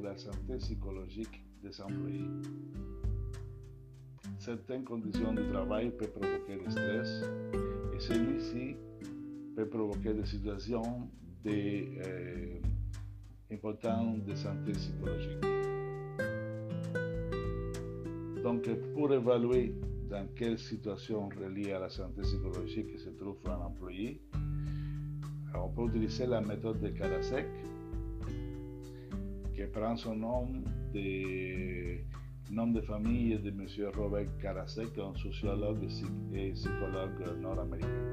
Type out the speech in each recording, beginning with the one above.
la santé psychologique des employés. Certaines conditions de travail peuvent provoquer du stress et celui-ci peut provoquer des situations importantes de santé psychologique. Donc, pour évaluer dans quelle situation reliée à la santé psychologique se trouve un employé, on peut utiliser la méthode de Karasek, qui prend son nom de famille de M. Robert Karasek, un sociologue et psychologue nord-américain.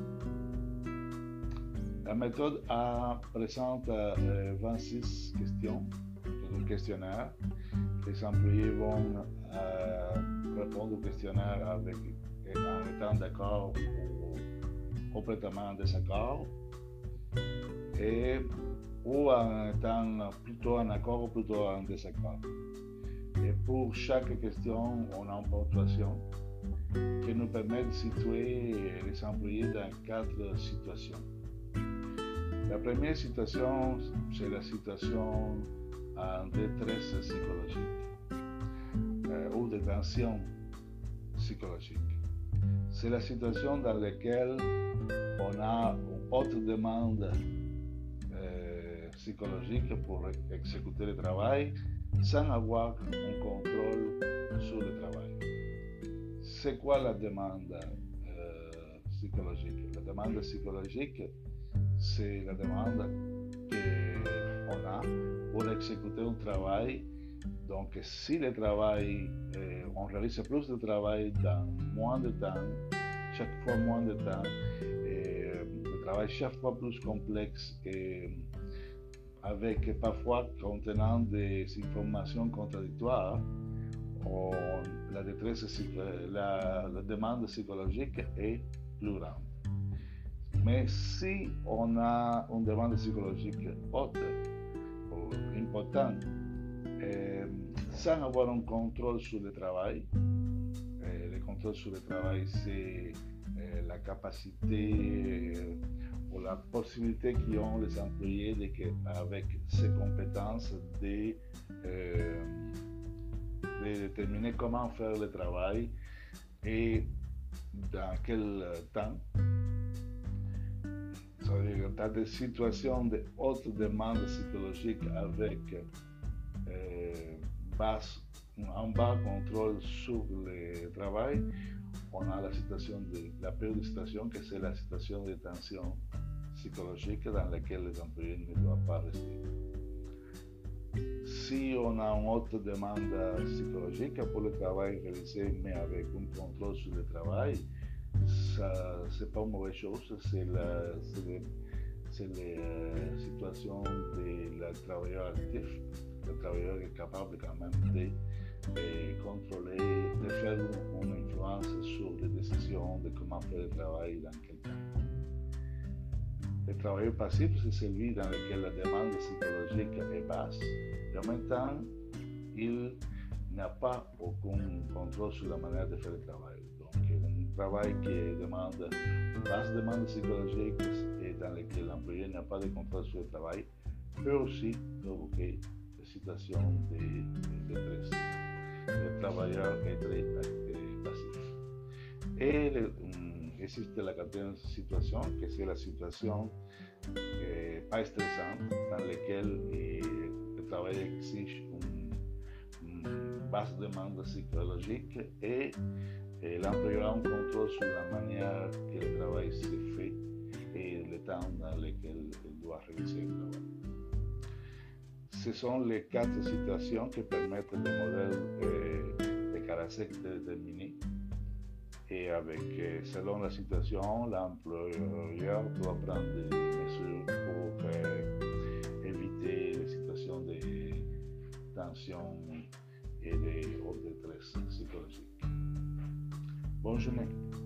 La méthode présente 26 questions, un questionnaire. Les employés vont répondre au questionnaire en étant d'accord ou complètement en désaccord, ou en étant plutôt en accord ou plutôt en désaccord. Et pour chaque question, on a une ponctuation qui nous permet de situer les employés dans 4 situations. La première situation, c'est la situation en détresse psychologique ou de tension psychologique. C'est la situation dans laquelle on a une haute demande psychologique pour exécuter le travail sans avoir un contrôle sur le travail. C'est quoi la demande psychologique? La demande psychologique, c'est la demande qu'on a pour exécuter un travail. Donc, si le travail, on réalise plus de travail dans moins de temps, chaque fois moins de temps, le travail chaque fois plus complexe et avec parfois contenant des informations contradictoires, la demande psychologique est plus grande. Mais si on a une demande psychologique haute ou importante, sans avoir un contrôle sur le travail, le contrôle sur le travail, c'est la capacité ou la possibilité qu'ont les employés avec ces compétences de déterminer comment faire le travail et dans quel temps. C'est-à-dire dans des situations de haute demande psychologique avec un bas contrôle sur le travail, on a la situation de la période de situation, que c'est la situation de tension psychologique dans laquelle les employés ne doivent pas rester. Si on a une haute demande psychologique pour le travail réalisé, mais avec un contrôle sur le travail, ça, c'est pas une mauvaise chose, c'est la situation du travailleur actif. Le travailleur est capable quand même de contrôler, de faire une influence sur les décisions de comment faire le travail dans quel temps. Le travailleur passif, c'est celui dans lequel la demande psychologique est basse et en même temps, il n'a pas aucun contrôle sur la manière de faire le travail. Donc, un travail qui demande une basse demande psychologique et dans lequel l'employé n'a pas de contrôle sur le travail peut aussi provoquer des situations de détresse. Le travailleur est très passif. Et existe la quatrième situation, que c'est la situation pas stressante, dans laquelle le travail exige une basse demande psychologique et l'employeur a un contrôle sur la manière que le travail se fait et le temps dans lequel il doit réaliser le travail. Ce sont les 4 situations qui permettent le modèle de Karasek de déterminer. Et selon la situation, l'employeur doit prendre des mesures pour éviter les situations de tension et de détresse psychologique. Bonne journée.